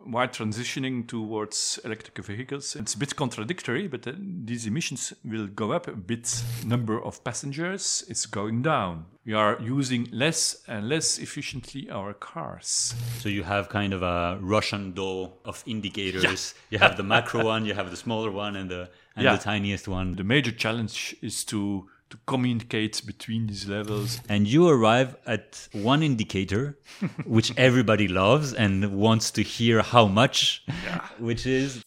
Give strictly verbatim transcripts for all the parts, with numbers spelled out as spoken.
while transitioning towards electric vehicles, it's a bit contradictory, but uh, these emissions will go up a bit. Number of passengers is going down. We are using less and less efficiently our cars. So you have kind of a Russian doll of indicators. Yeah. You have the macro one, you have the smaller one, and the and yeah. the tiniest one. The major challenge is to to communicate between these levels. And you arrive at one indicator, which everybody loves and wants to hear how much, yeah. which is...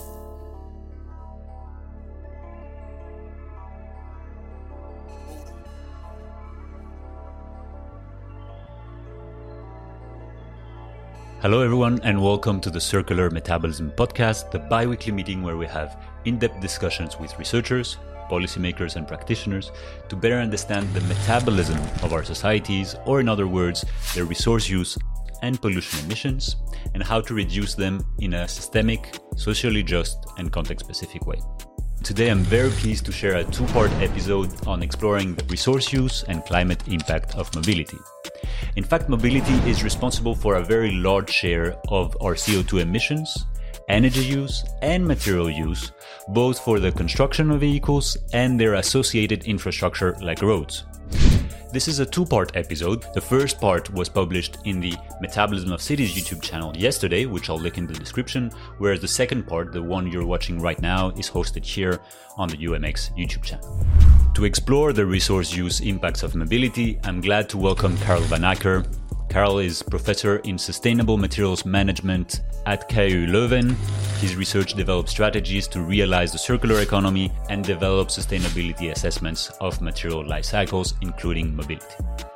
Hello everyone and welcome to the Circular Metabolism Podcast, the bi-weekly meeting where we have in-depth discussions with researchers, policymakers and practitioners to better understand the metabolism of our societies, or in other words, their resource use and pollution emissions, and how to reduce them in a systemic, socially just and context-specific way. Today I'm very pleased to share a two-part episode on exploring the resource use and climate impact of mobility. In fact, mobility is responsible for a very large share of our C O two emissions, energy use and material use, both for the construction of vehicles and their associated infrastructure like roads. This is a two-part episode. The first part was published in the Metabolism of Cities YouTube channel yesterday, which I'll link in the description, whereas the second part, the one you're watching right now, is hosted here on the U M X YouTube channel. To explore the resource use impacts of mobility, I'm glad to welcome Karel van Acker. Karel is professor in sustainable materials management at K U Leuven. His research develops strategies to realize the circular economy and develop sustainability assessments of material life cycles, including mobility.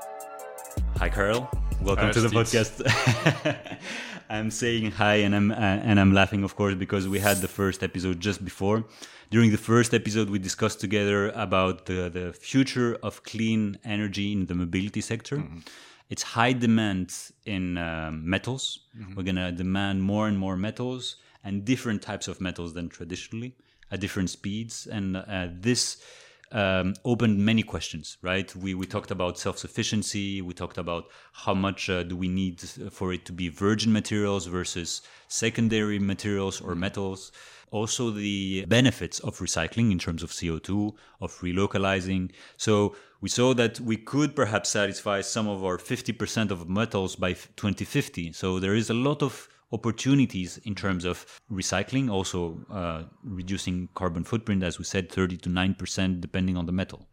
Hi, Karel. Welcome hi, to the Steve. podcast. I'm saying hi, and I'm uh, and I'm laughing, of course, because we had the first episode just before. During the first episode, we discussed together about the, the future of clean energy in the mobility sector. Mm-hmm. It's high demand in um, metals. Mm-hmm. We're going to demand more and more metals and different types of metals than traditionally at different speeds. And uh, this um, opened many questions, right? We we talked about self-sufficiency. We talked about how much uh, do we need for it to be virgin materials versus secondary materials or metals. Also the benefits of recycling in terms of C O two, of relocalizing. So we saw that we could perhaps satisfy some of our fifty percent of metals by twenty fifty. So there is a lot of opportunities in terms of recycling, also uh, reducing carbon footprint, as we said, thirty to nine percent depending on the metal.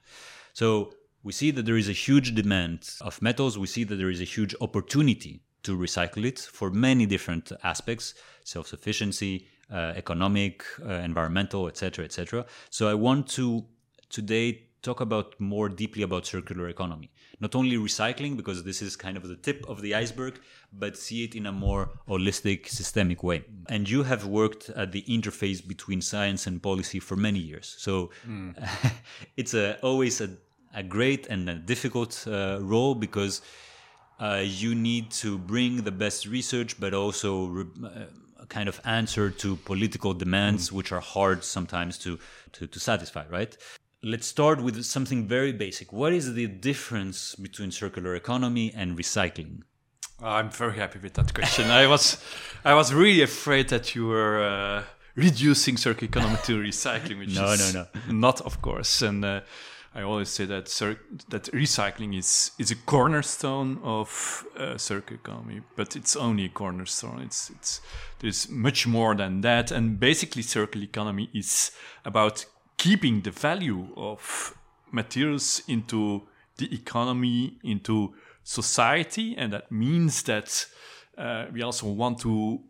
So we see that there is a huge demand of metals. We see that there is a huge opportunity to recycle it for many different aspects, self-sufficiency, uh, economic, uh, environmental, et cetera, et cetera. So I want to today talk about more deeply about circular economy. Not only recycling, because this is kind of the tip of the iceberg, but see it in a more holistic, systemic way. And you have worked at the interface between science and policy for many years. So mm. it's a, always a, a great and a difficult uh, role, because uh, you need to bring the best research, but also re- uh, a kind of answer to political demands, mm. which are hard sometimes to, to, to satisfy, right? Let's start with something very basic. What is the difference between circular economy and recycling? I'm very happy with that question. I was I was really afraid that you were uh, reducing circular economy to recycling, which no, is no, no. not, of course. And uh, I always say that cir- that recycling is, is a cornerstone of uh, circular economy, but it's only a cornerstone. It's it's there's much more than that. And basically, circular economy is about keeping the value of materials into the economy, into society, and that means that uh, we also want to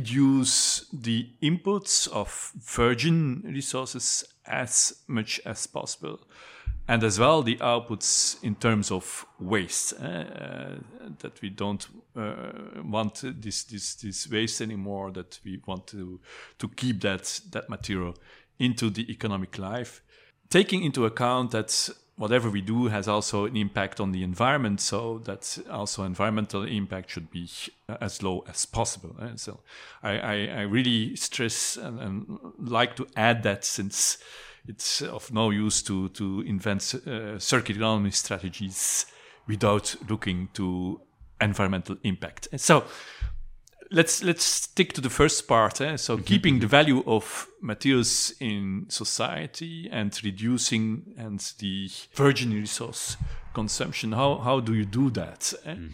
reduce the inputs of virgin resources as much as possible, and as well the outputs in terms of waste, uh, that we don't uh, want this this this waste anymore, that we want to to keep that that material into the economic life, taking into account that whatever we do has also an impact on the environment, so that also environmental impact should be as low as possible. Eh? So I, I, I really stress and, and like to add that, since it's of no use to, to invent uh, circular economy strategies without looking to environmental impact. And so let's let's stick to the first part. Eh? So keeping the value of materials in society and reducing and the virgin resource consumption. How how do you do that? Eh? Mm.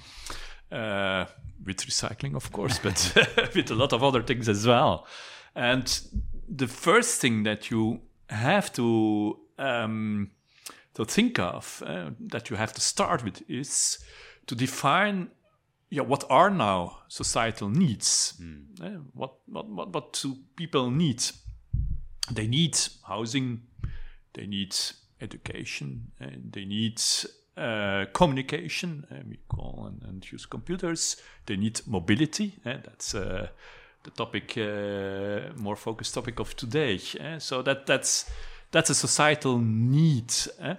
Uh, with recycling, of course, but with a lot of other things as well. And the first thing that you have to um, to think of, uh, that you have to start with, is to define, yeah, what are now societal needs? Mm. Uh, what, what what what do people need? They need housing, they need education, and they need uh, communication. Uh, we call and, and use computers. They need mobility. Uh, that's uh, the topic, uh, more focused topic of today. Uh, so that that's that's a societal need. Uh?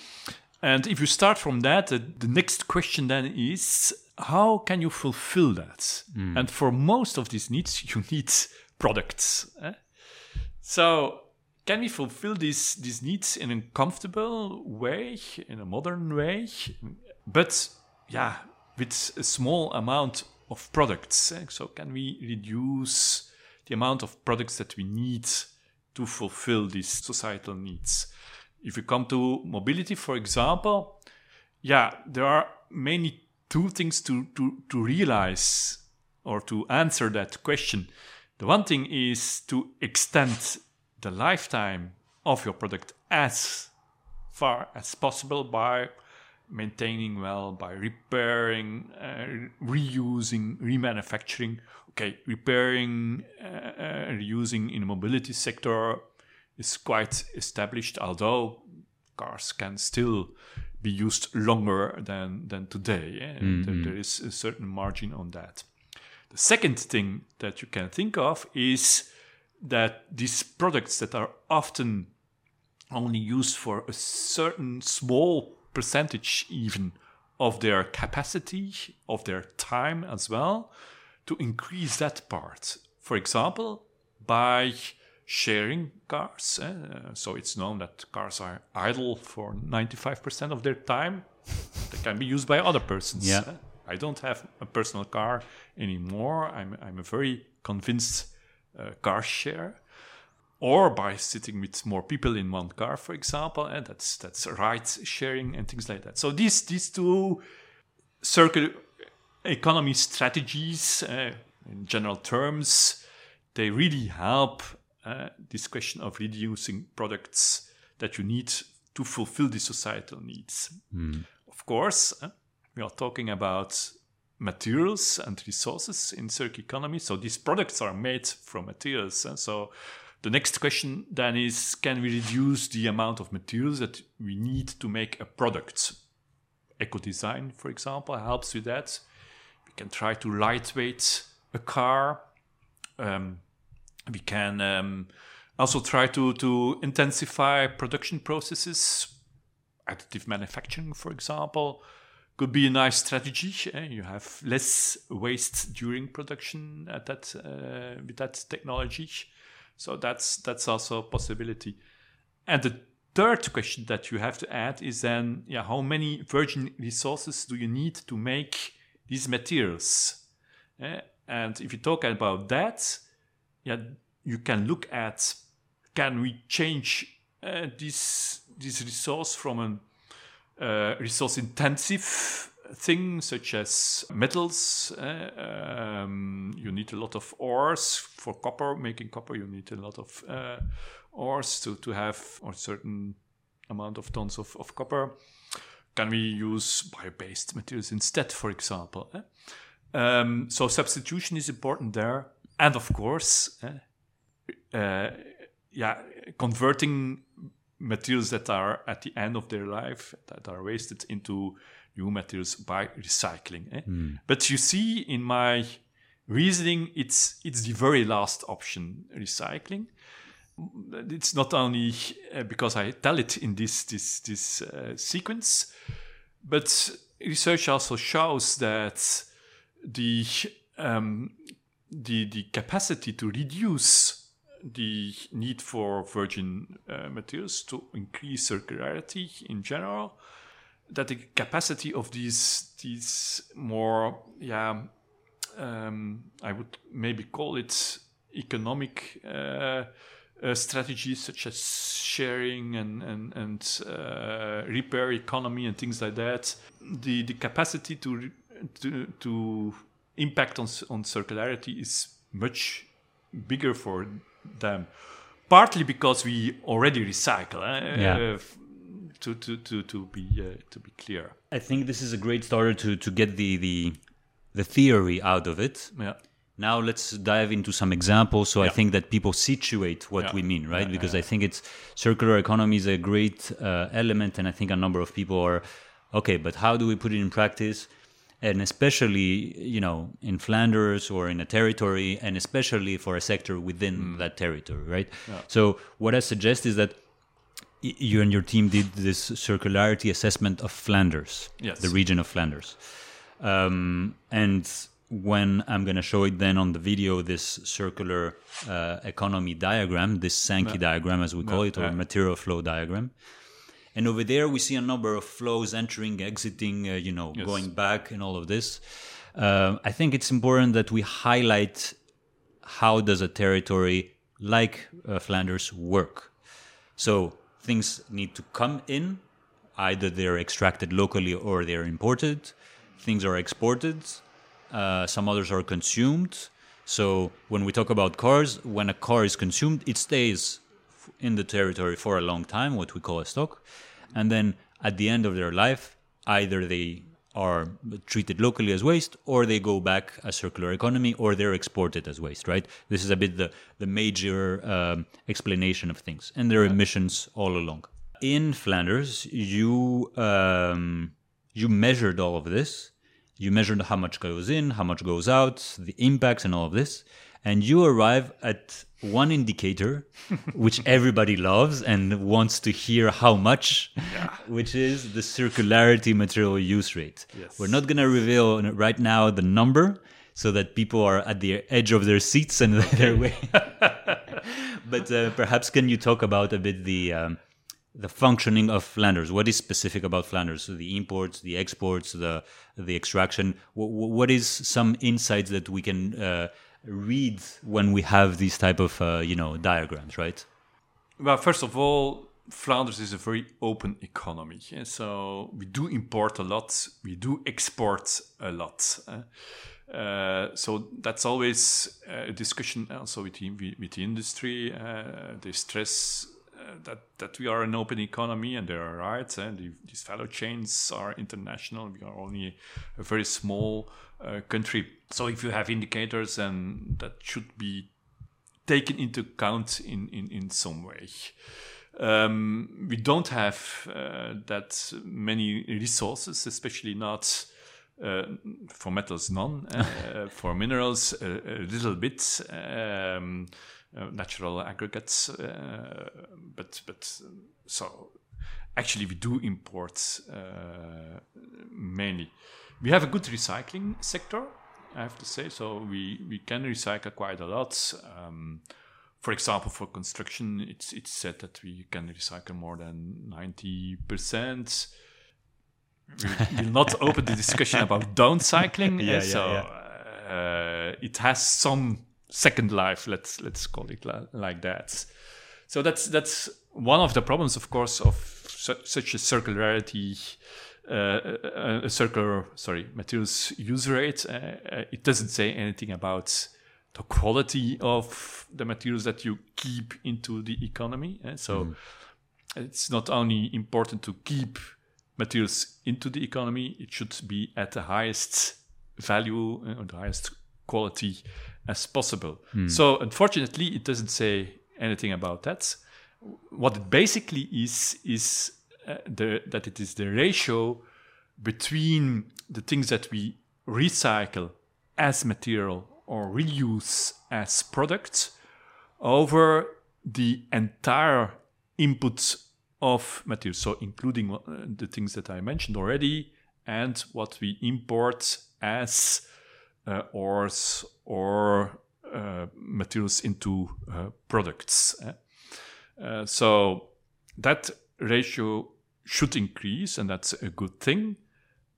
And if you start from that, uh, the next question then is, how can you fulfill that? Mm. And for most of these needs, you need products. Eh? So can we fulfill these, these needs in a comfortable way, in a modern way? But, yeah, with a small amount of products. Eh? So can we reduce the amount of products that we need to fulfill these societal needs? If you come to mobility, for example, yeah, there are mainly two things to, to, to realize or to answer that question. The one thing is to extend the lifetime of your product as far as possible by maintaining well, by repairing, uh, reusing, remanufacturing. Okay, repairing, uh, uh, reusing in the mobility sector is quite established, although cars can still be used longer than, than today. Eh? Mm-hmm. There, there is a certain margin on that. The second thing that you can think of is that these products that are often only used for a certain small percentage even of their capacity, of their time as well, to increase that part. For example, by sharing cars. Uh, so it's known that cars are idle for ninety-five percent of their time. They can be used by other persons. Yeah. Uh, I don't have a personal car anymore. I'm, I'm a very convinced uh, car share. Or by sitting with more people in one car, for example. And that's that's ride sharing and things like that. So these, these two circular economy strategies, uh, in general terms, they really help Uh, this question of reducing products that you need to fulfill the societal needs. Mm. Of course, uh, we are talking about materials and resources in circular economy. So these products are made from materials. Uh, so the next question then is, can we reduce the amount of materials that we need to make a product? Eco-design, for example, helps with that. We can try to lightweight a car. Um, We can um, also try to, to intensify production processes. Additive manufacturing, for example, could be a nice strategy. Eh? You have less waste during production at that uh, with that technology. So that's that's also a possibility. And the third question that you have to add is then, yeah, how many virgin resources do you need to make these materials? Eh? And if you talk about that, yeah, you can look at, can we change uh, this this resource from a uh, resource-intensive thing, such as metals. Uh, um, you need a lot of ores for copper. Making copper, you need a lot of uh, ores to, to have a certain amount of tons of, of copper. Can we use bio-based materials instead, for example? Eh? Um, so substitution is important there. And of course, uh, uh, yeah, converting materials that are at the end of their life, that are wasted, into new materials by recycling. Eh? Mm. But you see, in my reasoning, it's it's the very last option, recycling. It's not only uh, because I tell it in this this this uh, sequence, but research also shows that the um, the the capacity to reduce the need for virgin uh, materials, to increase circularity in general, that the capacity of these these more yeah um, I would maybe call it economic uh, uh, strategies such as sharing and and, and uh, repair economy and things like that. The the capacity to to to impact on on circularity is much bigger for them. Partly because we already recycle. Eh? Yeah. Uh, to to to to be uh, to be clear. I think this is a great starter to to get the the the theory out of it. Yeah. Now let's dive into some examples. So Yeah. I think that people situate what Yeah. we mean, right? Yeah, Because yeah, I think it's circular economy is a great uh, element, and I think a number of people are okay. But how do we put it in practice? And especially, you know, in Flanders or in a territory, and especially for a sector within Mm. that territory, right? Yeah. So what I suggest is that y- you and your team did this circularity assessment of Flanders, Yes. the region of Flanders. Um, and when I'm going to show it then on the video, this circular uh, economy diagram, this Sankey Yeah. diagram, as we call Yeah, it, or yeah. material flow diagram. And over there, we see a number of flows entering, exiting, uh, you know, Yes. going back and all of this. Um I think it's important that we highlight how does a territory like uh, Flanders work. So things need to come in, either they're extracted locally or they're imported. Things are exported. Uh, some others are consumed. So when we talk about cars, when a car is consumed, it stays f- in the territory for a long time, what we call a stock. And then at the end of their life, either they are treated locally as waste, or they go back as circular economy, or they're exported as waste, right? This is a bit the, the major um, explanation of things. And there are emissions all along. In Flanders, you um, you measured all of this. You measured how much goes in, how much goes out, the impacts and all of this. And you arrive at one indicator, which everybody loves and wants to hear how much, Yeah. which is the circularity material use rate. Yes. We're not going to reveal right now the number so that people are at the edge of their seats and their way. But uh, perhaps can you talk about a bit the... Um, the functioning of Flanders? What is specific about Flanders? So the imports, the exports, the the extraction. What, what is some insights that we can uh, read when we have these type of uh, you know diagrams, right? Well, first of all, Flanders is a very open economy. Yeah? So we do import a lot, we do export a lot. Uh, uh, so that's always a discussion also with the, with the industry. Uh, they stress uh, that, that we are an open economy, and they are right. And the, these value chains are international. We are only a very small uh, country. So if you have indicators, then that should be taken into account in, in, in some way. Um, we don't have uh, that many resources, especially not uh, for metals, none. Uh, for minerals, a, a little bit. Um, uh, natural aggregates, uh, but but so actually we do import uh, mainly. We have a good recycling sector, I have to say. So we, we can recycle quite a lot. Um, for example, for construction, it's it's said that we can recycle more than ninety percent. We will not open the discussion about downcycling. Yeah, uh, so yeah, yeah. Uh, it has some second life. Let's let's call it la- like that. So that's that's one of the problems, of course, of su- such a circularity. Uh, a circular, sorry, materials use rate. Uh, uh, it doesn't say anything about the quality of the materials that you keep into the economy. Eh? So mm. it's not only important to keep materials into the economy, it should be at the highest value or uh, the highest quality as possible. Mm. So unfortunately, it doesn't say anything about that. What it basically is, is Uh, the, that it is the ratio between the things that we recycle as material or reuse as products over the entire input of materials. So including uh, the things that I mentioned already and what we import as uh, ores or uh, materials into uh, products. Eh? Uh, so that ratio should increase, and that's a good thing.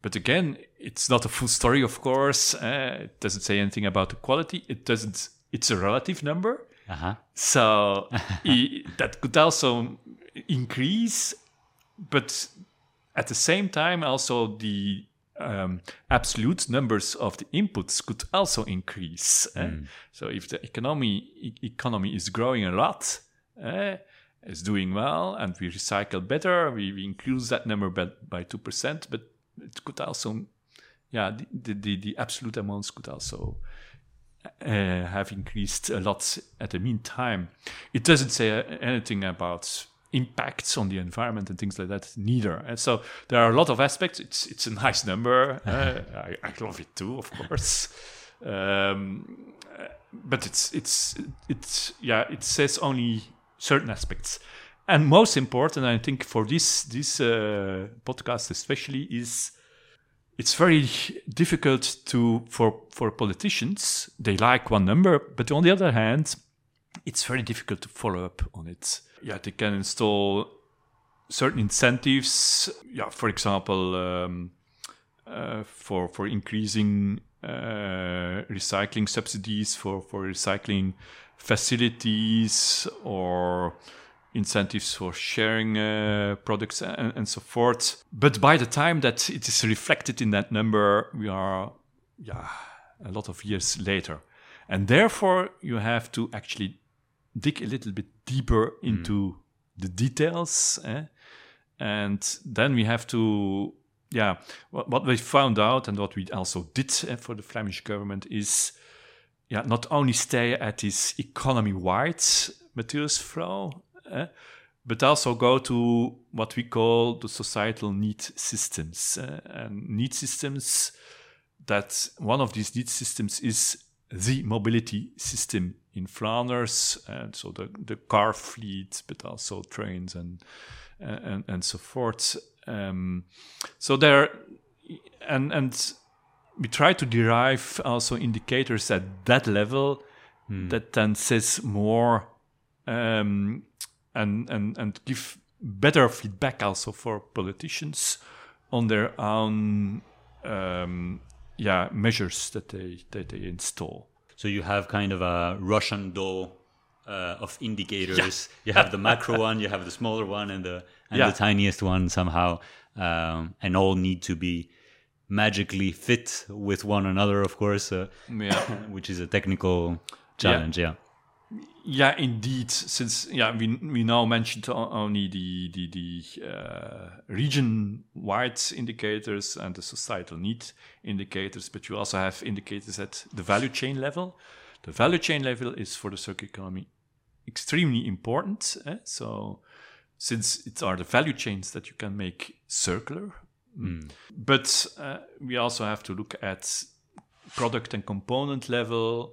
But again, it's not a full story, of course. Uh, it doesn't say anything about the quality. It doesn't. It's a relative number. Uh-huh. So I, that could also increase, but at the same time, also the um, absolute numbers of the inputs could also increase. Mm. Uh, so if the economy e- economy is growing a lot, uh, is doing well, and we recycle better, we, we increase that number by, by two percent, but it could also, yeah, the, the, the absolute amounts could also Uh, have increased a lot at the meantime. It doesn't say uh, anything about impacts on the environment and things like that, neither. And so there are a lot of aspects. It's it's a nice number. Uh, I, I love it too, of course. Um, but it's it's it's yeah, it says only certain aspects. And most important, I think, for this this uh, podcast especially, is it's very difficult to for for politicians. They like one number, but on the other hand, it's very difficult to follow up on it. Yeah, they can install certain incentives. Yeah, for example, um, uh, for for increasing uh, recycling subsidies for for recycling facilities, or incentives for sharing uh, products and, and so forth. But by the time that it is reflected in that number, we are yeah, a lot of years later. And therefore, you have to actually dig a little bit deeper into mm. the details. Eh? And then we have to, yeah, what, what we found out and what we also did eh, for the Flemish government is, yeah, not only stay at this economy-wide materials flow, Uh, but also go to what we call the societal need systems. Uh, and need systems, that one of these need systems is the mobility system in Flanders, and so the, the car fleet, but also trains and and, and so forth. Um, so there, and and we try to derive also indicators at that level hmm. that then says more. Um, And, and and give better feedback also for politicians on their own um, yeah measures that they that they install. So you have kind of a Russian doll uh, of indicators. Yeah. You have the macro one, you have the smaller one, and the and yeah. the tiniest one somehow, um, and all need to be magically fit with one another, of course, uh, yeah. which is a technical challenge. Yeah. yeah. Yeah, indeed. Since yeah, we we now mentioned only the the, the uh, region-wide indicators and the societal need indicators, but you also have indicators at the value chain level. The value chain level is for the circular economy extremely important. Eh? So, since it are the value chains that you can make circular, mm. but uh, we also have to look at product and component level.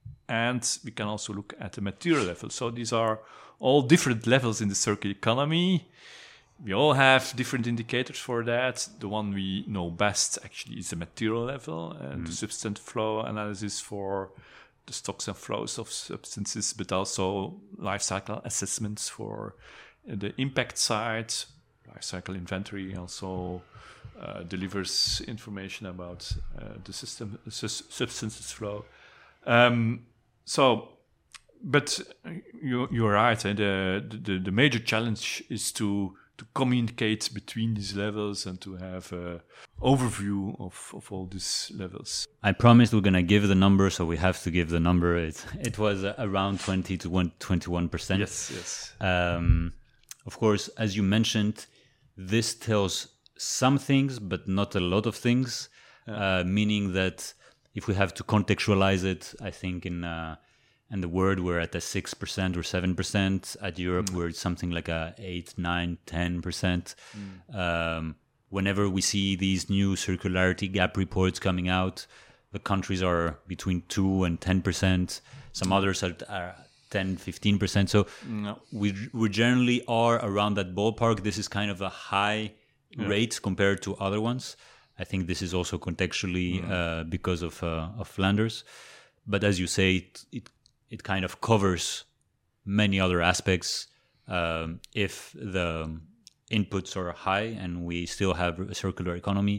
And we can also look at the material level. So these are all different levels in the circular economy. We all have different indicators for that. The one we know best actually is the material level, and mm. the substance flow analysis for the stocks and flows of substances, but also life cycle assessments for the impact side. Life cycle inventory also uh, delivers information about uh, the system su- substances flow. Um, So, but you, you're right. Eh? The, the the major challenge is to to communicate between these levels and to have an overview of, of all these levels. I promised we're gonna give the number, so we have to give the number. It it was uh, around twenty to twenty-one percent. Yes, yes. Um, of course, as you mentioned, this tells some things, but not a lot of things. Yeah. Uh, meaning that. If we have to contextualize it, I think in uh, in the world we're at a six percent or seven percent. At Europe, mm. we're at something like a eight, nine, ten percent. Mm. Um, whenever we see these new circularity gap reports coming out, the countries are between two and ten percent. Some others are, are ten, fifteen percent. So no. we we generally are around that ballpark. This is kind of a high yeah. rate compared to other ones. I think this is also contextually mm. uh, because of uh, of Flanders, but as you say, it, it it kind of covers many other aspects. Um, if the inputs are high and we still have a circular economy,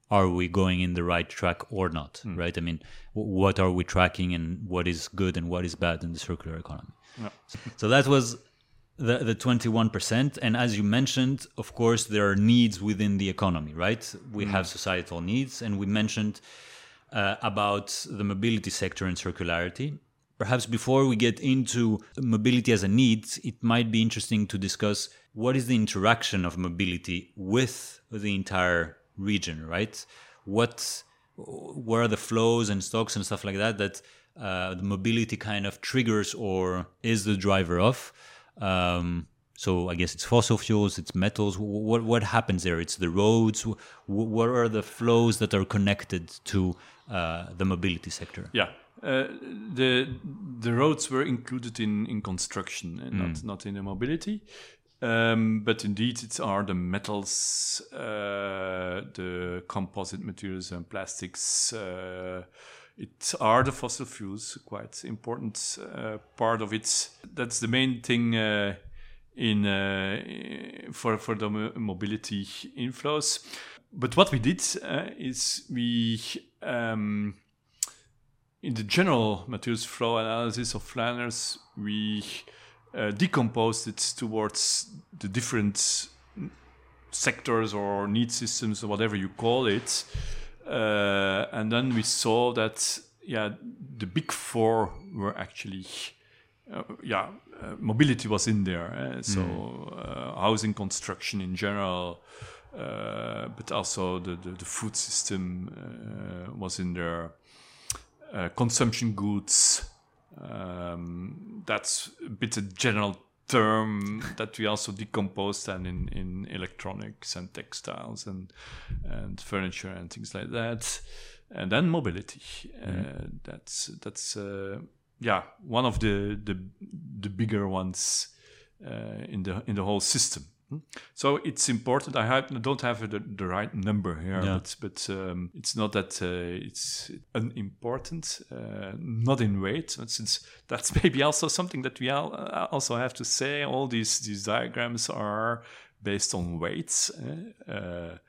are we going in the right track or not, Mm. right? I mean, w- what are we tracking and what is good and what is bad in the circular economy? Yeah. So that was the, the twenty-one percent. And as you mentioned, of course, there are needs within the economy, right? We Mm. have societal needs, and we mentioned uh, about the mobility sector and circularity. Perhaps before we get into mobility as a need, it might be interesting to discuss what is the interaction of mobility with the entire region, right? What, what are the flows and stocks and stuff like that that uh, the mobility kind of triggers or is the driver of? Um, so I guess it's fossil fuels, it's metals. What what happens there? It's the roads. What are the flows that are connected to uh, the mobility sector? Yeah. Uh, the the roads were included in, in construction and not, not in the mobility. Um, but indeed, it are the metals, uh, the composite materials and plastics. Uh, it are the fossil fuels, quite important uh, part of it. That's the main thing uh, in uh, for for the mo- mobility inflows. But what we did uh, is we. Um, In the general materials flow analysis of Flanders, we uh, decomposed it towards the different sectors or need systems or whatever you call it. Uh, and then we saw that, yeah, the big four were actually, uh, yeah, uh, mobility was in there. Eh? So uh, housing construction in general, uh, but also the, the, the food system uh, was in there. Uh, consumption goods, um, that's a bit a general term that we also decomposed and in, in electronics and textiles and and furniture and things like that. And then mobility. Mm-hmm. Uh, that's that's uh, yeah one of the the, the bigger ones uh, in the in the whole system. So it's important. I, have, I don't have the, the right number here, yeah. but but um, it's not that uh, it's unimportant, uh, not in weight. Since that's maybe also something that we all, uh, also have to say. All these these diagrams are based on weights. Eh? Uh,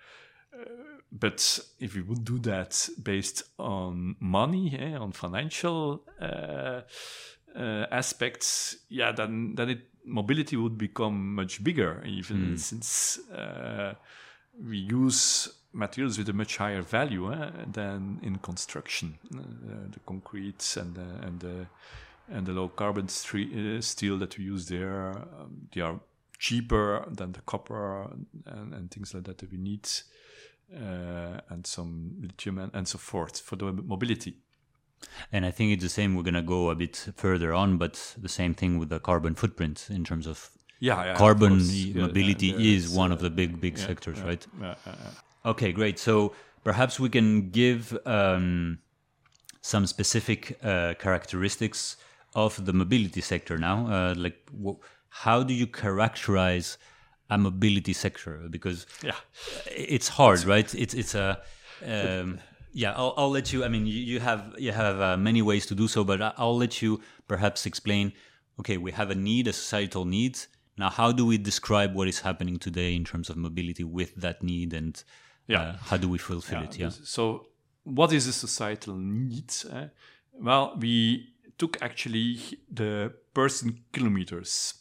but if we would do that based on money, eh, on financial uh, uh, aspects, yeah, then then it. Mobility would become much bigger, even mm. since uh, we use materials with a much higher value eh, than in construction. Uh, the concrete and the, and the and the low carbon stre- uh, steel that we use there, um, they are cheaper than the copper and, and things like that that we need, uh, and some lithium and, and so forth for the mobility. And I think it's the same. We're going to go a bit further on, but the same thing with the carbon footprint in terms of yeah, yeah carbon of mobility yeah, yeah, is one uh, of the big, big yeah, sectors, yeah, right? Yeah, yeah, yeah. Okay, great. So perhaps we can give um, some specific uh, characteristics of the mobility sector now. Uh, like, w- how do you characterize a mobility sector? Because yeah. it's hard, right? It's it's a um, Yeah, I'll, I'll let you. I mean, you, you have you have uh, many ways to do so, but I'll let you perhaps explain. Okay, we have a need, a societal need. Now, how do we describe what is happening today in terms of mobility with that need, and yeah. uh, how do we fulfill yeah. it? Yeah. So, what is a societal need? Eh? Well, we took actually the person kilometers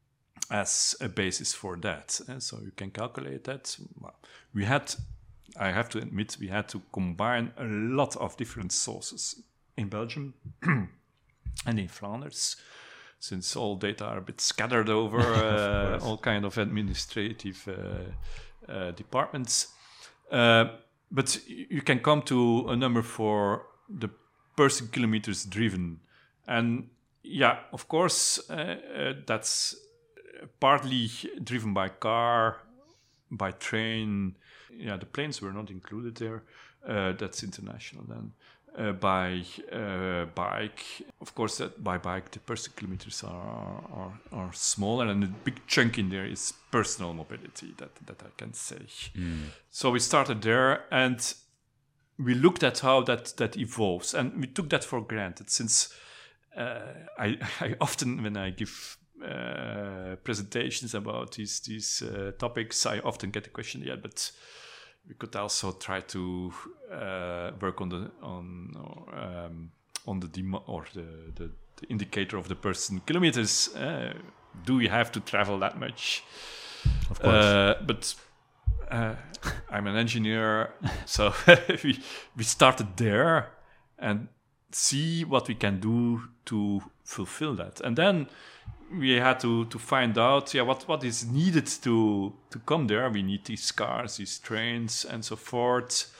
as a basis for that. Eh? So you can calculate that. Well, we had. I have to admit, we had to combine a lot of different sources in Belgium and in Flanders, since all data are a bit scattered over uh, all kind of administrative uh, uh, departments. Uh, but you can come to a number for the person kilometers driven. And yeah, of course, uh, uh, that's partly driven by car, by train. Yeah, the planes were not included there. Uh, that's international then. Uh, by uh, bike, of course, that by bike the person kilometers are, are are smaller, and a big chunk in there is personal mobility. That that I can say. Mm. So we started there, and we looked at how that that evolves, and we took that for granted. Since uh, I I often when I give Uh, presentations about these these uh, topics, I often get the question, yeah, but we could also try to uh, work on the on um, on the demo or the, the, the indicator of the person kilometers. Uh, do we have to travel that much? Of course. Uh, but uh, I'm an engineer, so we we started there and see what we can do to fulfill that, and then we had to, to find out yeah what, what is needed to to come there. We need these cars, these trains, and so forth.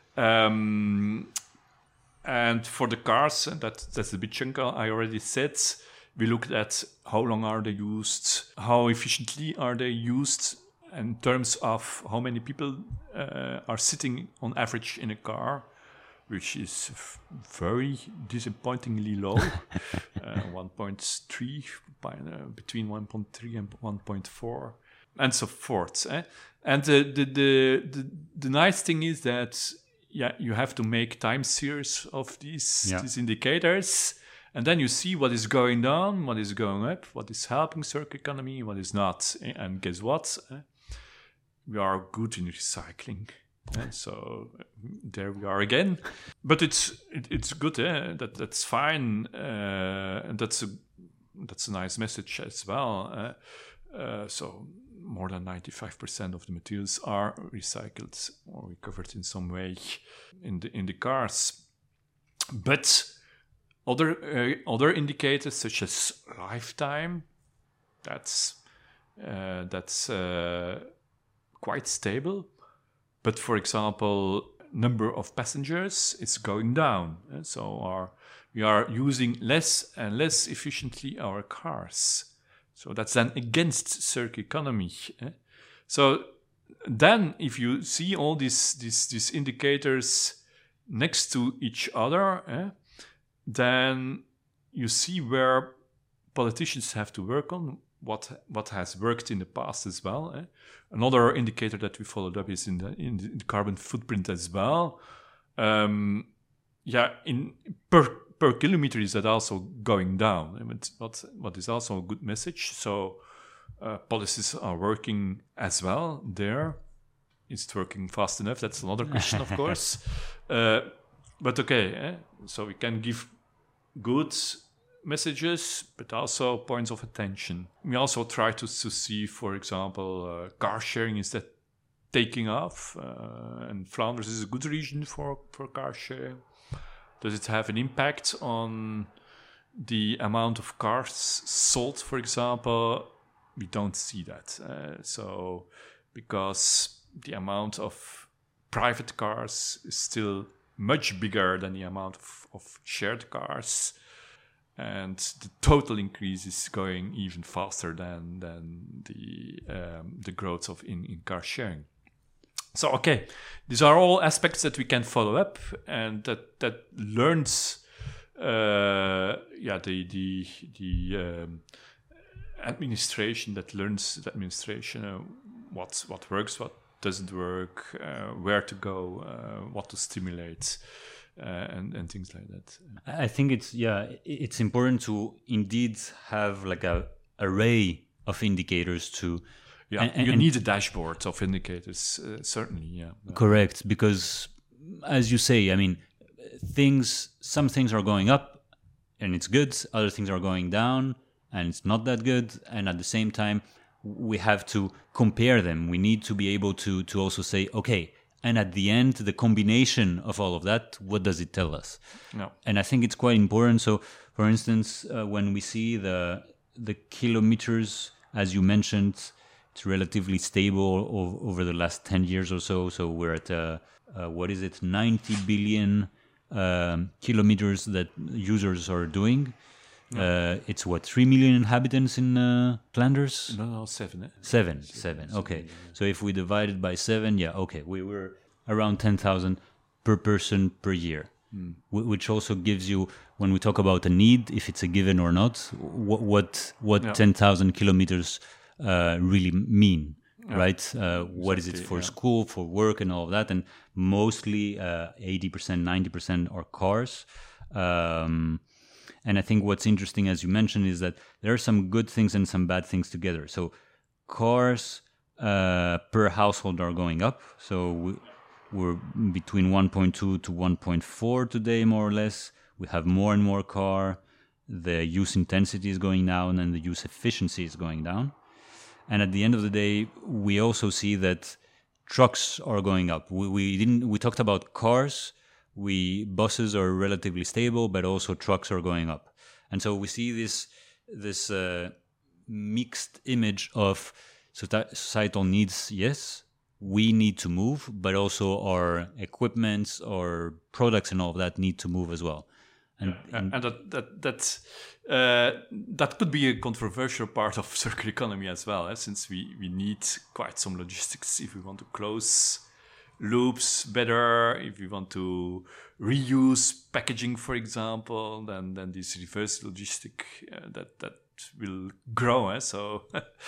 Um, and for the cars, and that that's the big chunk I already said. We looked at how long are they used, how efficiently are they used, in terms of how many people uh, are sitting on average in a car, which is f- very disappointingly low, uh, one point three, by, uh, between one point three and one point four, and so forth. Eh? And uh, the, the the the nice thing is that yeah, you have to make time series of these Yeah. these indicators, and then you see what is going down, what is going up, what is helping circular economy, what is not. Eh? And guess what? Eh? We are good in recycling. Eh, so uh, there we are again, but it's it, it's good. Eh? That that's fine, uh, and that's a that's a nice message as well. Eh? Uh, so more than ninety-five percent of the materials are recycled or recovered in some way in the in the cars. But other uh, other indicators such as lifetime, that's uh, that's uh, quite stable. But for example, number of passengers is going down. eh? So our, we are using less and less efficiently our cars. So that's then against circular economy. eh? So then if you see all these, these, these indicators next to each other, eh, then you see where politicians have to work on, what what has worked in the past as well. Eh? Another indicator that we followed up is in the in the carbon footprint as well. Um, yeah, in per per kilometer is that also going down. I mean, what what is also a good message. So uh, policies are working as well there. Is it working fast enough? That's another question, of course. Uh, but okay, eh? So we can give good messages, but also points of attention. We also try to, to see, for example, uh, car sharing, is that taking off? Uh, and Flanders is a good region for, for car sharing. Does it have an impact on the amount of cars sold, for example? We don't see that. Uh, so, because the amount of private cars is still much bigger than the amount of, of shared cars. And the total increase is going even faster than than the um, the growth of in, in car sharing. So okay, these are all aspects that we can follow up, and that that learns, uh, yeah, the the the um, administration that learns the administration uh, what what works, what doesn't work, uh, where to go, uh, what to stimulate. Uh, and, and things like that. I think it's yeah, it's important to indeed have like a array of indicators to. Yeah, and, you and need a dashboard of indicators, uh, certainly. Yeah, correct, because as you say, I mean, things. Some things are going up, and it's good. Other things are going down, and it's not that good. And at the same time, we have to compare them. We need to be able to to also say, okay. And at the end, the combination of all of that, what does it tell us? No. And I think it's quite important. So, for instance, uh, when we see the the kilometers, as you mentioned, it's relatively stable o- over the last ten years or so. So we're at, uh, uh, what is it, ninety billion um, kilometers that users are doing. No. Uh, it's what, three million inhabitants in uh, Flanders? No, no, seven. Eh? Seven, seven, seven. Okay. So if we divide it by seven, yeah, okay, we were around ten thousand per person per year, mm. w- which also gives you, when we talk about a need, if it's a given or not, what what, what yeah. ten thousand kilometers uh, really mean, yeah. right? Uh, what exactly, is it for yeah. school, for work, and all of that? And mostly uh, eighty percent, ninety percent are cars. Um, And I think what's interesting, as you mentioned, is that there are some good things and some bad things together. So cars uh, per household are going up. So we, we're between one point two to one point four today, more or less. We have more and more car. The use intensity is going down and the use efficiency is going down. And at the end of the day, we also see that trucks are going up. We, we didn't. We talked about cars. We buses are relatively stable, but also trucks are going up. And so we see this this uh, mixed image of societal needs. Yes, we need to move, but also our equipments, our products, and all of that need to move as well. And, yeah. and, and that that that uh, that could be a controversial part of circular economy as well, eh? Since we, we need quite some logistics if we want to close loops better, if we want to reuse packaging, for example, then then this reverse logistic uh, that that will grow. Eh? So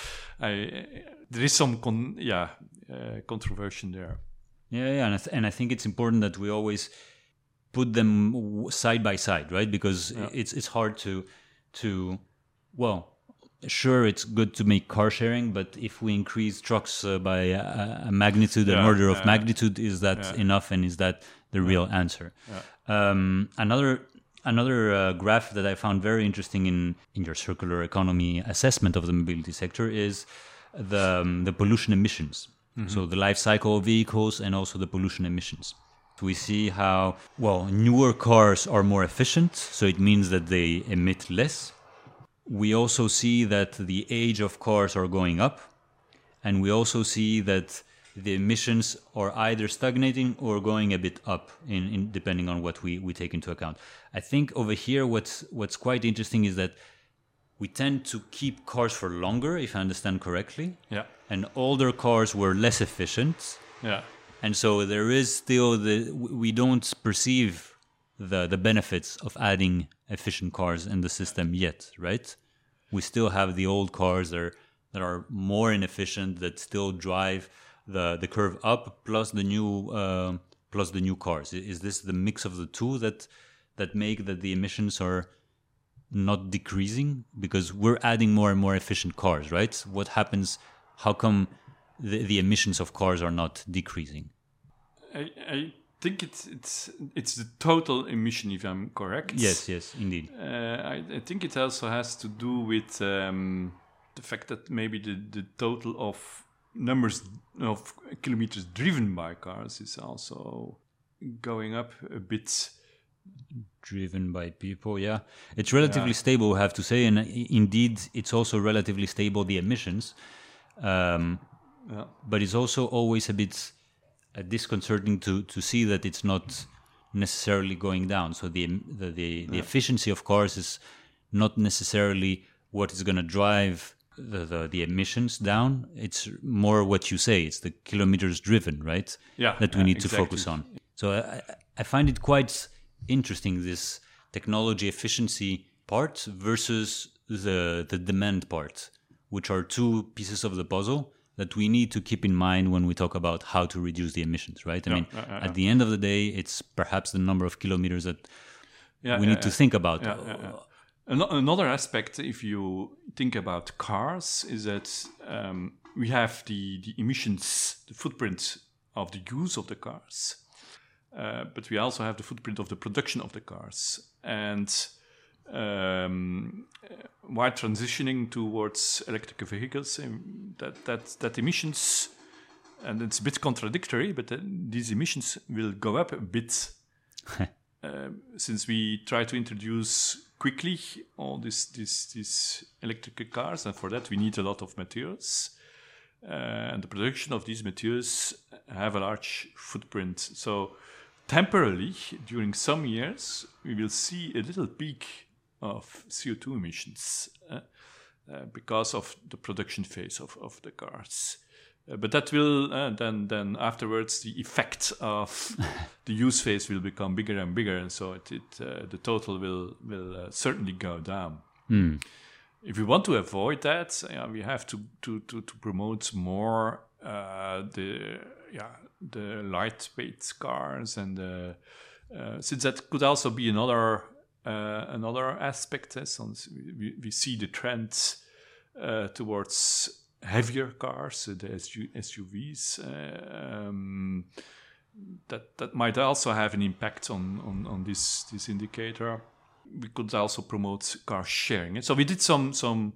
I, there is some con- yeah uh, controversy there. Yeah, yeah, and I, th- and I think it's important that we always put them side by side, right? Because yeah. it's it's hard to to well, sure, it's good to make car sharing, but if we increase trucks uh, by a, a magnitude, yeah, an order of yeah. magnitude, is that yeah. enough, and is that the yeah. real answer? Yeah. Um, another another uh, graph that I found very interesting in in your circular economy assessment of the mobility sector is the um, the pollution emissions. Mm-hmm. So the life cycle of vehicles and also the pollution emissions. We see how, well, newer cars are more efficient, so it means that they emit less. We also see that the age of cars are going up, and we also see that the emissions are either stagnating or going a bit up, in, in depending on what we, we take into account. I think over here what's what's quite interesting is that we tend to keep cars for longer, if I understand correctly. Yeah. And older cars were less efficient. Yeah. And so there is still the we don't perceive the the benefits of adding efficient cars in the system yet, right? We still have the old cars that are, that are more inefficient, that still drive the the curve up, plus the new uh, plus the new cars. Is this the mix of the two that that make that the emissions are not decreasing? Because we're adding more and more efficient cars, right? What happens? How come the, the emissions of cars are not decreasing? I, I think it's it's it's the total emission, if I'm correct. Yes, yes, indeed. Uh, I, I think it also has to do with um, the fact that maybe the, the total of numbers of kilometers driven by cars is also going up a bit. Driven by people, yeah. It's relatively yeah. stable, we have to say, and indeed it's also relatively stable, the emissions. Um, yeah. But it's also always a bit uh, disconcerting to, to see that it's not necessarily going down. So the the, the, the yeah. efficiency of cars is not necessarily what is going to drive the, the, the emissions down. It's more what you say. It's the kilometers driven, right? Yeah, that we yeah, need exactly. to focus on. So I, I find it quite interesting, this technology efficiency part versus the the demand part, which are two pieces of the puzzle that we need to keep in mind when we talk about how to reduce the emissions, right? I yeah, mean, uh, uh, at the end of the day, it's perhaps the number of kilometers that yeah, we yeah, need to yeah. think about. Yeah, yeah, yeah. Another aspect, if you think about cars, is that um, we have the, the emissions, the footprint of the use of the cars, uh, but we also have the footprint of the production of the cars. And um, while transitioning towards electric vehicles, um, that, that, that emissions, and it's a bit contradictory, but uh, these emissions will go up a bit uh, since we try to introduce quickly all these this, this electric cars, and for that we need a lot of materials. Uh, and the production of these materials have a large footprint. So temporarily, during some years, we will see a little peak of C O two emissions uh, uh, because of the production phase of, of the cars. Uh, but that will, uh, then then afterwards, the effect of the use phase will become bigger and bigger, and so it, it uh, the total will, will uh, certainly go down. Mm. If we want to avoid that, uh, we have to, to, to, to promote more uh, the yeah the lightweight cars, and uh, uh, since that could also be another uh, another aspect. Uh, so we, we see the trend uh, towards heavier cars, uh, the S U Vs, uh, um, that that might also have an impact on on, on this this indicator. We could also promote car sharing. So we did some some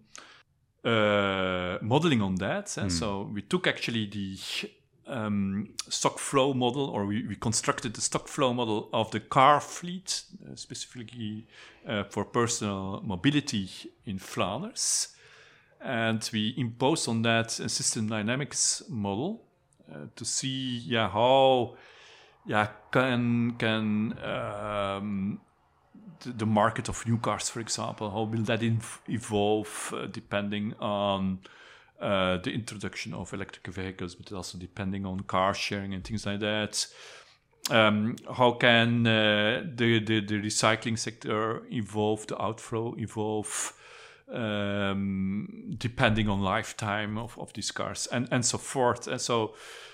uh, modeling on that. Mm. So we took actually the um, stock flow model, or we, we constructed the stock flow model of the car fleet, uh, specifically uh, for personal mobility in Flanders. And we imposed on that a system dynamics model uh, to see yeah, how yeah, can, can um, the, the market of new cars, for example, how will that inv- evolve uh, depending on uh, the introduction of electric vehicles, but also depending on car sharing and things like that. Um, how can uh, the, the, the recycling sector evolve, the outflow evolve, um, depending on lifetime of, of these cars, and, and so forth. And so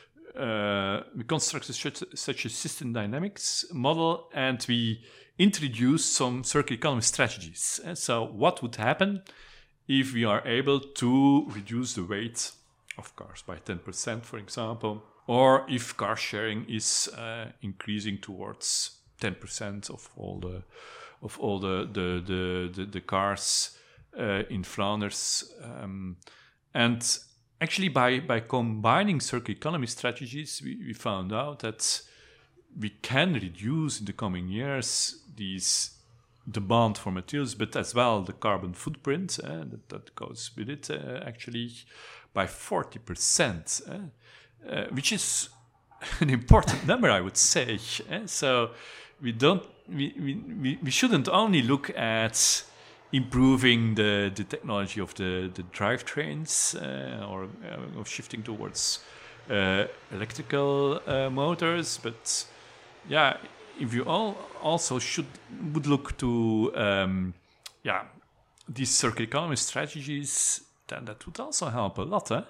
uh, we constructed such, such a system dynamics model, and we introduced some circular economy strategies. And so what would happen if we are able to reduce the weight of cars by ten percent, for example, or if car sharing is uh, increasing towards ten percent of all the of all the the the, the, the cars uh, in Flanders. Um, and actually, by by combining circular economy strategies, we, we found out that we can reduce in the coming years these demand for materials, but as well the carbon footprint uh, that, that goes with it, uh, actually by forty percent. Uh, Uh, which is an important number, I would say. Eh? So we don't, we, we, we shouldn't only look at improving the, the technology of the, the drivetrains uh, or uh, of shifting towards uh, electrical uh, motors, but yeah, if you all also should would look to um, yeah these circular economy strategies, then that would also help a lot. Eh?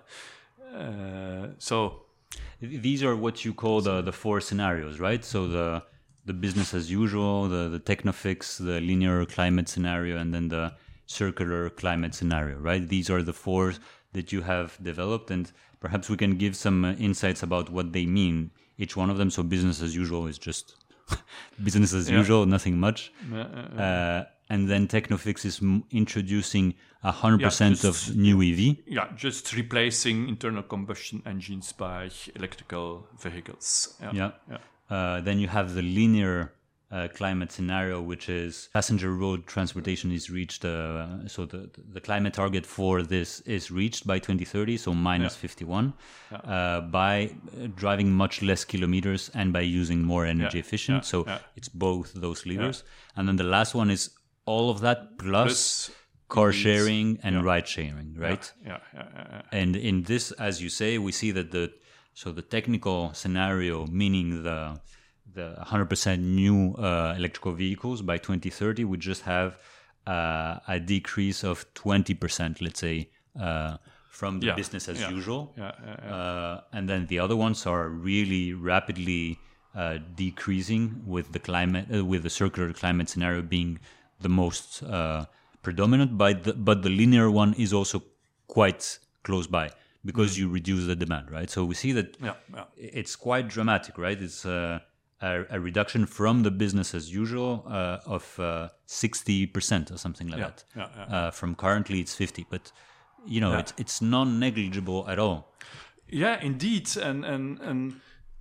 Uh, so these are what you call the, the four scenarios, right? So the the business as usual, the, the technofix, the linear climate scenario, and then the circular climate scenario, right? These are the four that you have developed, and perhaps we can give some uh, insights about what they mean, each one of them. So business as usual is just business as yeah. usual, nothing much. Uh, uh, uh, and then technofix is m- introducing one hundred percent yeah, just, of new E V. Yeah, just replacing internal combustion engines by electrical vehicles. Yeah. yeah. yeah. Uh, then you have the linear uh, climate scenario, which is passenger road transportation is reached. Uh, so the the climate target for this is reached by twenty thirty, so minus yeah. fifty-one, yeah. uh, by driving much less kilometers and by using more energy yeah. efficient. Yeah. So yeah. it's both those levers. Yeah. And then the last one is all of that plus, plus car sharing and yeah. ride sharing, right? Yeah. Yeah. Yeah, yeah, yeah. And in this, as you say, we see that the so the technical scenario, meaning the the one hundred percent new uh, electrical vehicles by twenty thirty, would just have uh, a decrease of twenty percent, let's say, uh, from the yeah. business as yeah. usual. Yeah. Yeah, yeah. Uh, and then the other ones are really rapidly uh, decreasing, with the climate, uh, with the circular climate scenario being the most uh, predominant, but the, but the linear one is also quite close by because mm. you reduce the demand, right? So we see that yeah, yeah. it's quite dramatic, right? It's uh, a, a reduction from the business as usual uh, of uh, sixty percent or something like yeah, that. Yeah, yeah. Uh, from currently it's fifty, but you know, yeah. it's it's non-negligible at all. Yeah, indeed, and and and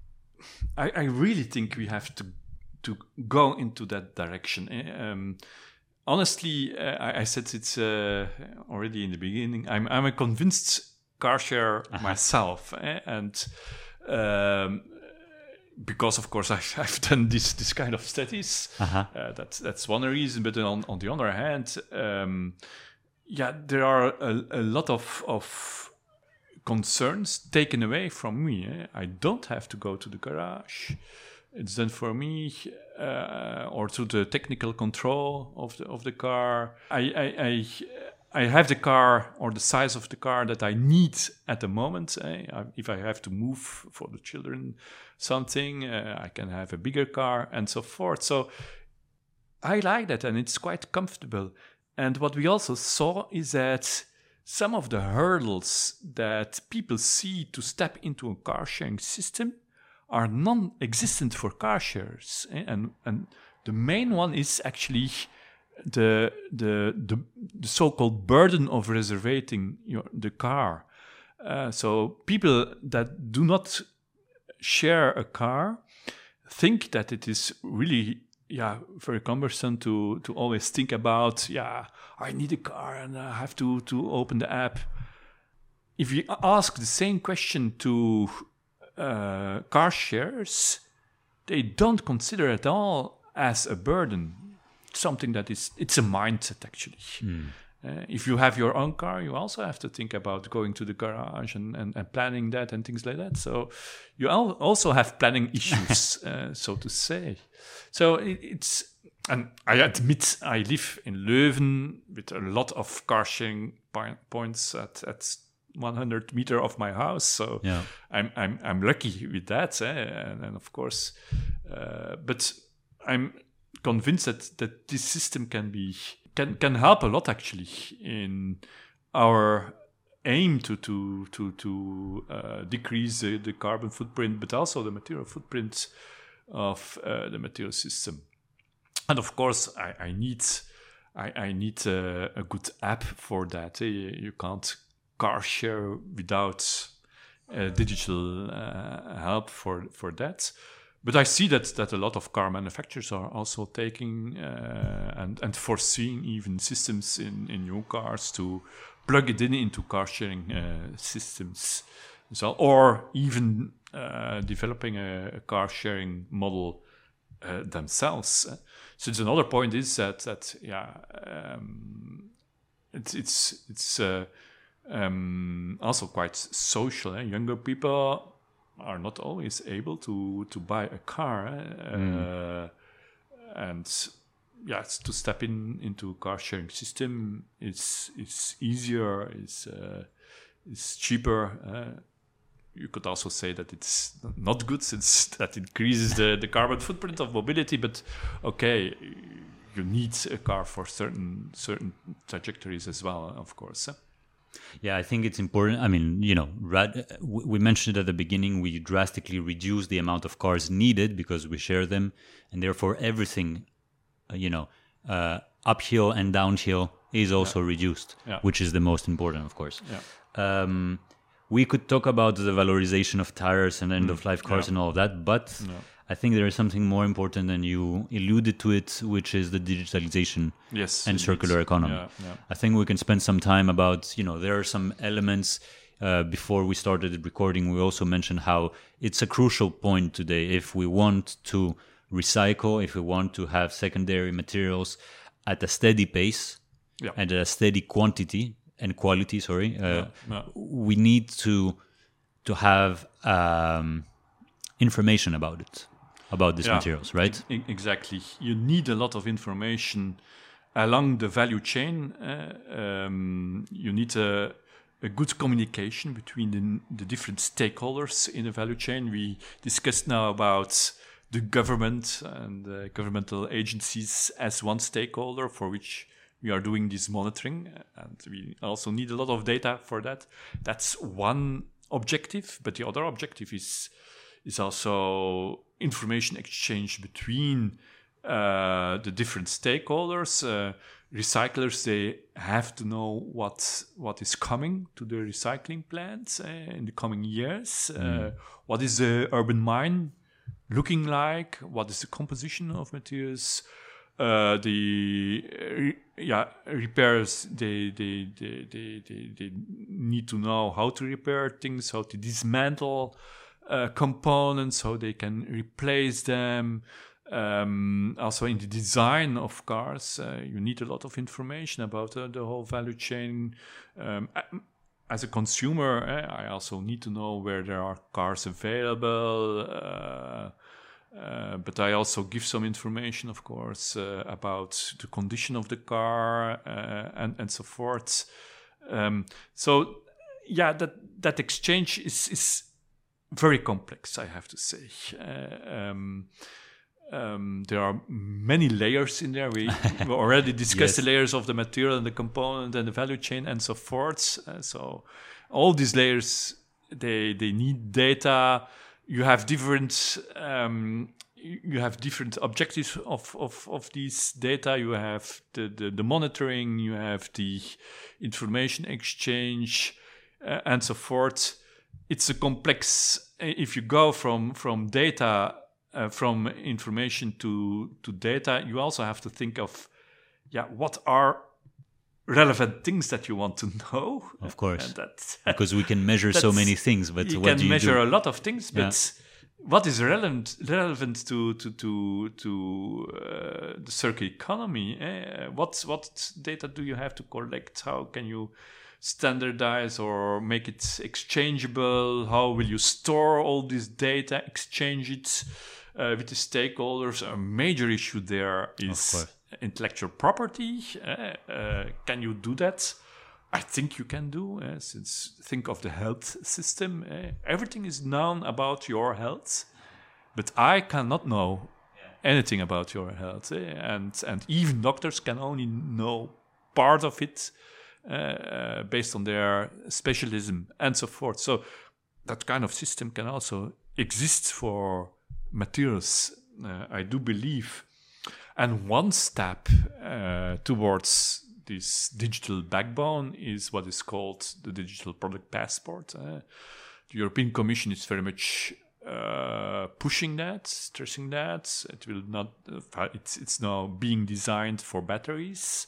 I, I really think we have to to go into that direction. Um, honestly, uh, I, I said it's uh, already in the beginning. I'm I'm a convinced car share uh-huh. myself, eh? and um, because of course I've, I've done this this kind of studies. Uh-huh. Uh, that's that's one reason. But on on the other hand, um, yeah, there are a, a lot of of concerns taken away from me. Eh? I don't have to go to the garage. It's done for me, uh, or through the technical control of the of the car. I, I I I have the car or the size of the car that I need at the moment. Eh? If I have to move for the children something, uh, I can have a bigger car and so forth. So I like that, and it's quite comfortable. And what we also saw is that some of the hurdles that people see to step into a car sharing system are non-existent for car shares, eh? and and the main one is actually the the the, the so-called burden of reserving your the car. Uh, so people that do not share a car think that it is really yeah very cumbersome to to always think about yeah I need a car and I have to to open the app. If you ask the same question to uh, car shares, they don't consider at all as a burden. Something that is it's a mindset actually. Mm. Uh, if you have your own car, you also have to think about going to the garage and, and, and planning that and things like that. So you al- also have planning issues, uh, so to say. So it, it's, and I admit I live in Leuven with a lot of car sharing po- points at, at one hundred meter of my house. So yeah. I'm, I'm, I'm lucky with that. Eh? And, and of course, uh, but I'm convinced that, that this system can be, Can, can help a lot actually in our aim to to to to uh, decrease the, the carbon footprint, but also the material footprint of uh, the material system. And of course, I, I need I, I need a, a good app for that. You can't car share without uh, digital uh, help for for that. But I see that that a lot of car manufacturers are also taking uh, and and foreseeing even systems in, in new cars to plug it in into car sharing uh, systems, so or even uh, developing a, a car sharing model uh, themselves. So it's another point is that that yeah um, it's it's it's uh, um, also quite social. Eh? Younger people are not always able to to buy a car, uh, mm. and yes, to step in into a car sharing system is is easier, is uh, is cheaper. Uh, you could also say that it's not good since that increases the, the carbon footprint of mobility. But okay, you need a car for certain certain trajectories as well, of course. Eh? Yeah, I think it's important. I mean, you know, rad- we mentioned at the beginning, we drastically reduce the amount of cars needed because we share them. And therefore, everything, uh, you know, uh, uphill and downhill is also yeah. reduced, yeah. which is the most important, of course. Yeah. Um, we could talk about the valorization of tires and end-of-life cars yeah. and all of that, but yeah. I think there is something more important, and you alluded to it, which is the digitalization yes, and circular economy. Yeah, yeah. I think we can spend some time about, you know, there are some elements. Uh, before we started recording, we also mentioned how it's a crucial point today. If we want to recycle, if we want to have secondary materials at a steady pace yeah. and at a steady quantity and quality, sorry, uh, yeah, yeah. we need to to have um, information about it. About these yeah, materials, right? E- exactly. You need a lot of information along the value chain. Uh, um, you need a, a good communication between the, the different stakeholders in the value chain. We discussed now about the government and uh, governmental agencies as one stakeholder for which we are doing this monitoring. And we also need a lot of data for that. That's one objective, but the other objective is is also information exchange between uh, the different stakeholders. Uh, recyclers, they have to know what what is coming to the recycling plants uh, in the coming years. Mm. Uh, what is the urban mine looking like? What is the composition of materials? Uh, the re- yeah repairs, they they, they they they they need to know how to repair things, how to dismantle Uh, components, how they can replace them. Um, also in the design of cars, uh, you need a lot of information about uh, the whole value chain. Um, as a consumer, eh, I also need to know where there are cars available. Uh, uh, but I also give some information, of course, uh, about the condition of the car uh, and, and so forth. Um, so, yeah, that, that exchange is... is very complex, I have to say. Uh, um, um, there are many layers in there. We, we already discussed yes. the layers of the material and the component and the value chain and so forth. Uh, so all these layers, they they need data. you have different um, you have different objectives of, of, of these data. You have the, the, the monitoring, you have the information exchange, uh, and so forth. It's a complex. If you go from from data, uh, from information to to data, you also have to think of, yeah, what are relevant things that you want to know. Of course, and that, because we can measure so many things, but you what can do you measure do? a lot of things, but. Yeah. What is relevant relevant to to to to uh, the circular economy? Eh? What what data do you have to collect? How can you standardize or make it exchangeable? How will you store all this data? Exchange it uh, with the stakeholders? A major issue there is intellectual property. Uh, uh, can you do that? I think you can do, uh, since think of the health system. Uh, everything is known about your health, but I cannot know anything about your health. Uh, and, and even doctors can only know part of it uh, uh, based on their specialism and so forth. So that kind of system can also exist for materials, uh, I do believe. And one step uh, towards this digital backbone is what is called the digital product passport. Uh, the European Commission is very much uh, pushing that, stressing that. It will not. Uh, it's it's now being designed for batteries,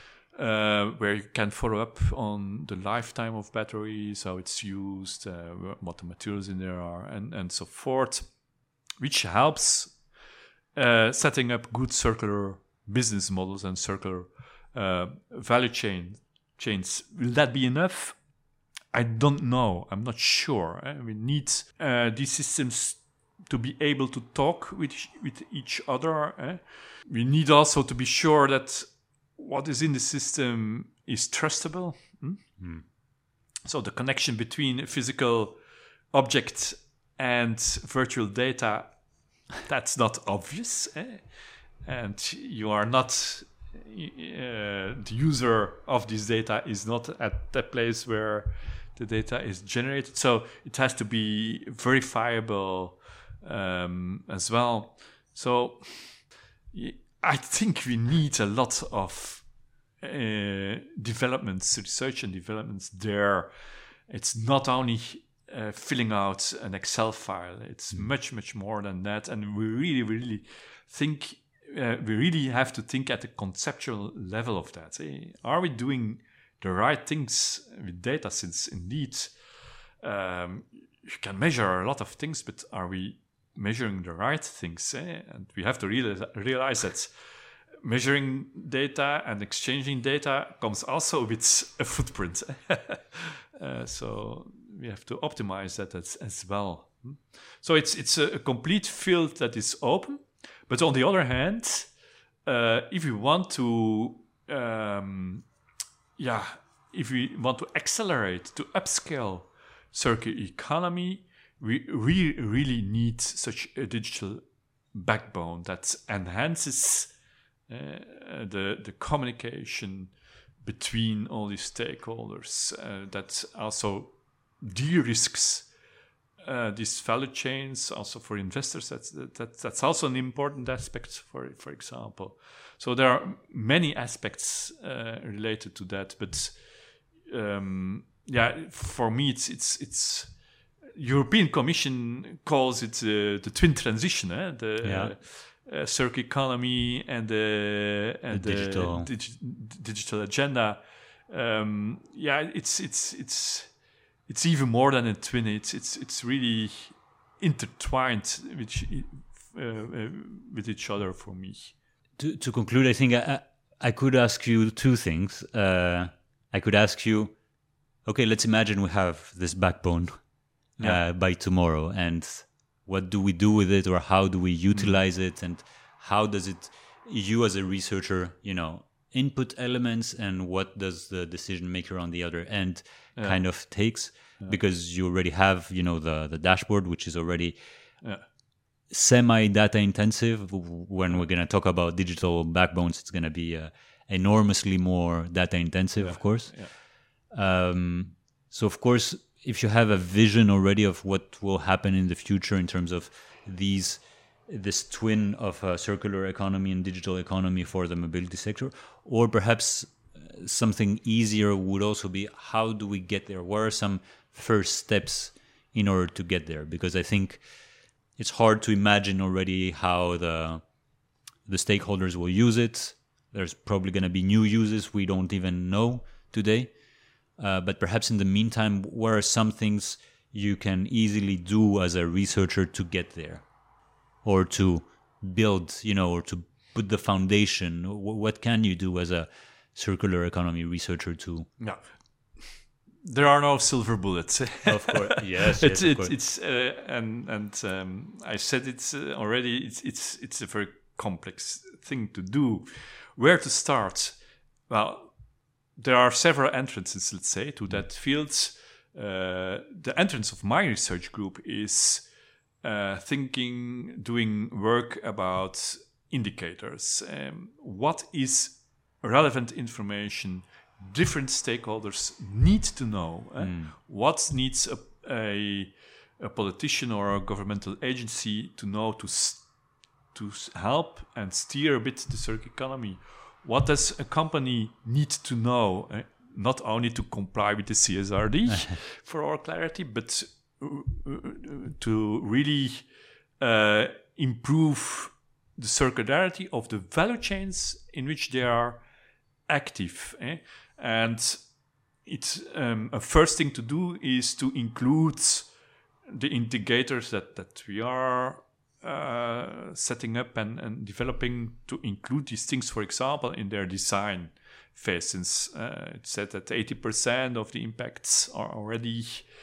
uh, where you can follow up on the lifetime of batteries, how it's used, uh, what the materials in there are, and and so forth, which helps uh, setting up good circular business models and circular Uh, value chain chains. Will that be enough? I don't know. I'm not sure. Eh? We need uh, these systems to be able to talk with with each other. Eh? We need also to be sure that what is in the system is trustable. Hmm? Mm. So the connection between a physical object and virtual data, that's not obvious. Eh? And you are not... Uh, the user of this data is not at that place where the data is generated, so it has to be verifiable um, as well. So I think we need a lot of uh, developments, research and developments there. It's not only uh, filling out an Excel file, it's mm. much, much more than that. And we really, really think Uh, we really have to think at the conceptual level of that. Eh? Are we doing the right things with data? Since indeed um, you can measure a lot of things, but are we measuring the right things? Eh? And we have to realize, realize that measuring data and exchanging data comes also with a footprint. uh, so we have to optimize that as, as well. So it's it's a, a complete field that is open. But on the other hand, uh, if we want to, um, yeah, if we want to accelerate, to upscale circular economy, we re- really need such a digital backbone that enhances uh, the the communication between all these stakeholders, uh, that also de-risks Uh, these value chains, also for investors. That's that, that's also an important aspect, for for example. So there are many aspects uh, related to that, but um, yeah, for me, it's it's it's European Commission calls it uh, the twin transition, eh? the yeah. uh, uh, circular economy and the and the digital the dig- digital agenda. Um, yeah, it's it's it's. It's even more than a twin. It's it's it's really intertwined with uh, uh, with each other for me. To to conclude, I think I I could ask you two things. Uh, I could ask you, okay, let's imagine we have this backbone yeah. uh, by tomorrow, and what do we do with it, or how do we utilize mm. it, and how does it? You as a researcher, you know, input elements, and what does the decision maker on the other end yeah. kind of takes, yeah. because you already have, you know, the the dashboard, which is already yeah. semi data intensive. When we're going to talk about digital backbones, it's going to be uh, enormously more data intensive, yeah. of course. Yeah. Um, so of course if you have a vision already of what will happen in the future in terms of these this twin of a circular economy and digital economy for the mobility sector, or perhaps something easier would also be, how do we get there? What are some first steps in order to get there? Because I think it's hard to imagine already how the the stakeholders will use it. There's probably going to be new uses we don't even know today. Uh, but perhaps in the meantime, what are some things you can easily do as a researcher to get there? Or to build, you know, or to put the foundation? What can you do as a circular economy researcher to? Yeah, there are no silver bullets. Of course, yes, yes it's of it's, course. it's uh, and and um, I said it uh, already. It's it's it's a very complex thing to do. Where to start? Well, there are several entrances, let's say, to that field. Uh, the entrance of my research group is uh, thinking, doing work about indicators. Um, what is relevant information different stakeholders need to know? Eh? Mm. What needs a, a, a politician or a governmental agency to know to to help and steer a bit the circular economy? What does a company need to know? Eh? Not only to comply with the C S R D for our clarity, but to really uh, improve the circularity of the value chains in which they are active. Eh? And it's um, a first thing to do is to include the indicators that, that we are uh, setting up and, and developing, to include these things, for example, in their design phase. Since uh, it said that eighty percent of the impacts are already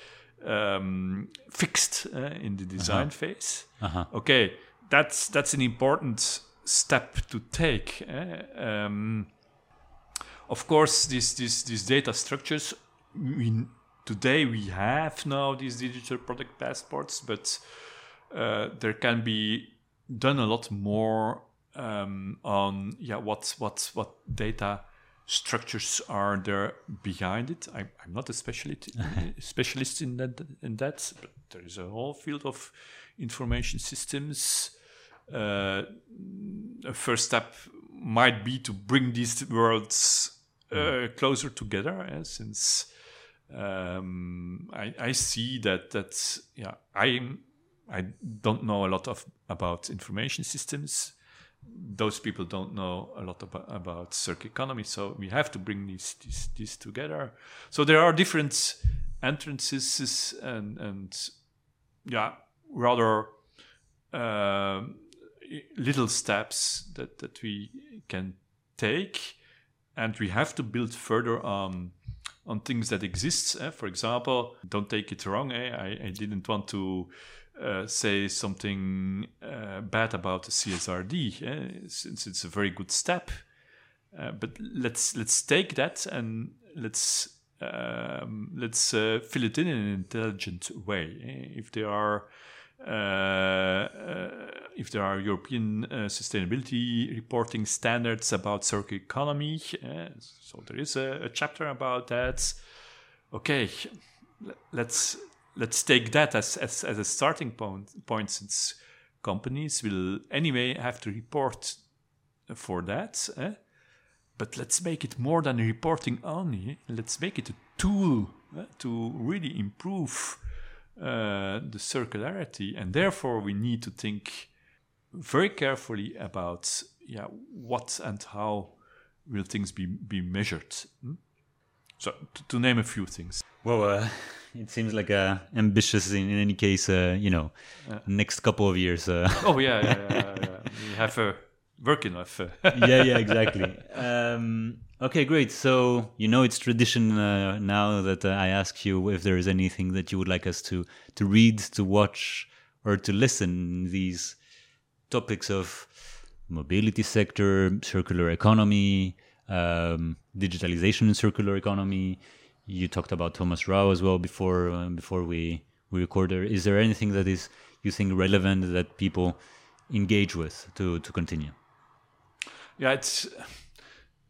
um, fixed uh, in the design uh-huh. phase. Uh-huh. Okay, that's that's an important step to take. Eh? Um, of course, these these these data structures. We, today we have now these digital product passports, but uh, there can be done a lot more um, on yeah what what what data structures are there behind it. I, I'm not a specialist specialist in that in that, but there is a whole field of information systems. Uh, a first step might be to bring these worlds uh, closer together, eh, since um, I, I see that that yeah I I don't know a lot of about information systems. Those people don't know a lot about, about circular economy, so we have to bring these these, these together. So there are different entrances and and yeah rather uh, little steps that, that we can take, and we have to build further on on things that exist. Eh? For example, don't take it wrong. Eh? I, I didn't want to uh, say something uh, bad about the C S R D, eh? Since it's a very good step. Uh, but let's let's take that and let's um, let's uh, fill it in in an intelligent way. Eh? If there are uh, uh, if there are European uh, sustainability reporting standards about circular economy, uh, so there is a, a chapter about that. Okay, let's let's take that as as, as a starting point, point, since companies will anyway have to report for that. Eh? But let's make it more than reporting only. Let's make it a tool eh, to really improve uh, the circularity, and therefore we need to think very carefully about yeah what and how will things be be measured. Hmm? So to, to name a few things. Well, uh, it seems like uh, ambitious in, in any case. Uh, you know, uh, next couple of years. Uh. Oh yeah, yeah, yeah, yeah. We have a. Work enough. yeah, yeah, exactly. Um, okay, great. So, you know, it's tradition uh, now that uh, I ask you if there is anything that you would like us to, to read, to watch, or to listen. These topics of mobility sector, circular economy, um, digitalization in circular economy. You talked about Thomas Rau as well before uh, before we, we recorded. Is there anything that is you think relevant that people engage with to, to continue? Yeah, it's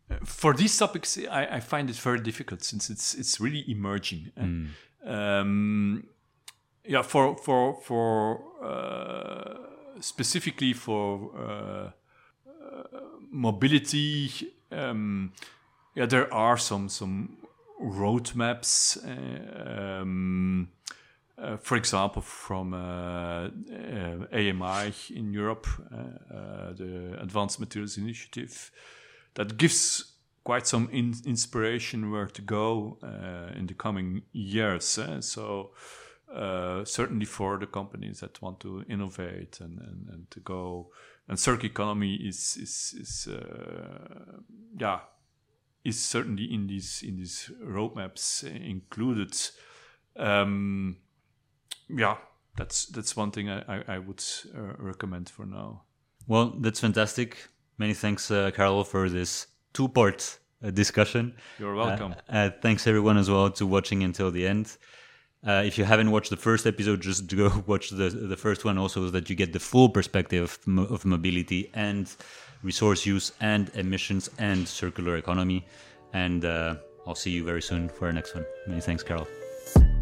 for these topics, I, I find it very difficult since it's it's really emerging. Mm. Um, yeah, for for for uh, specifically for uh, uh, mobility, um, yeah, there are some some roadmaps. Uh, um, uh, for example, from uh, uh, A M I in Europe, uh, uh, the Advanced Materials Initiative, that gives quite some in inspiration where to go uh, in the coming years. Eh? So uh, certainly for the companies that want to innovate and, and, and to go, and circular economy is is is uh, yeah is certainly in these in these roadmaps included. Um, yeah, that's that's one thing I I, I would uh, recommend for now. Well, that's fantastic. Many thanks, uh, Carol, for this two-part uh, discussion. You're welcome. Uh, uh, thanks everyone as well to watching until the end. Uh, if you haven't watched the first episode, just go watch the the first one also, so that you get the full perspective of, mo of mobility and resource use and emissions and circular economy. And uh, I'll see you very soon for our next one. Many thanks, Carol.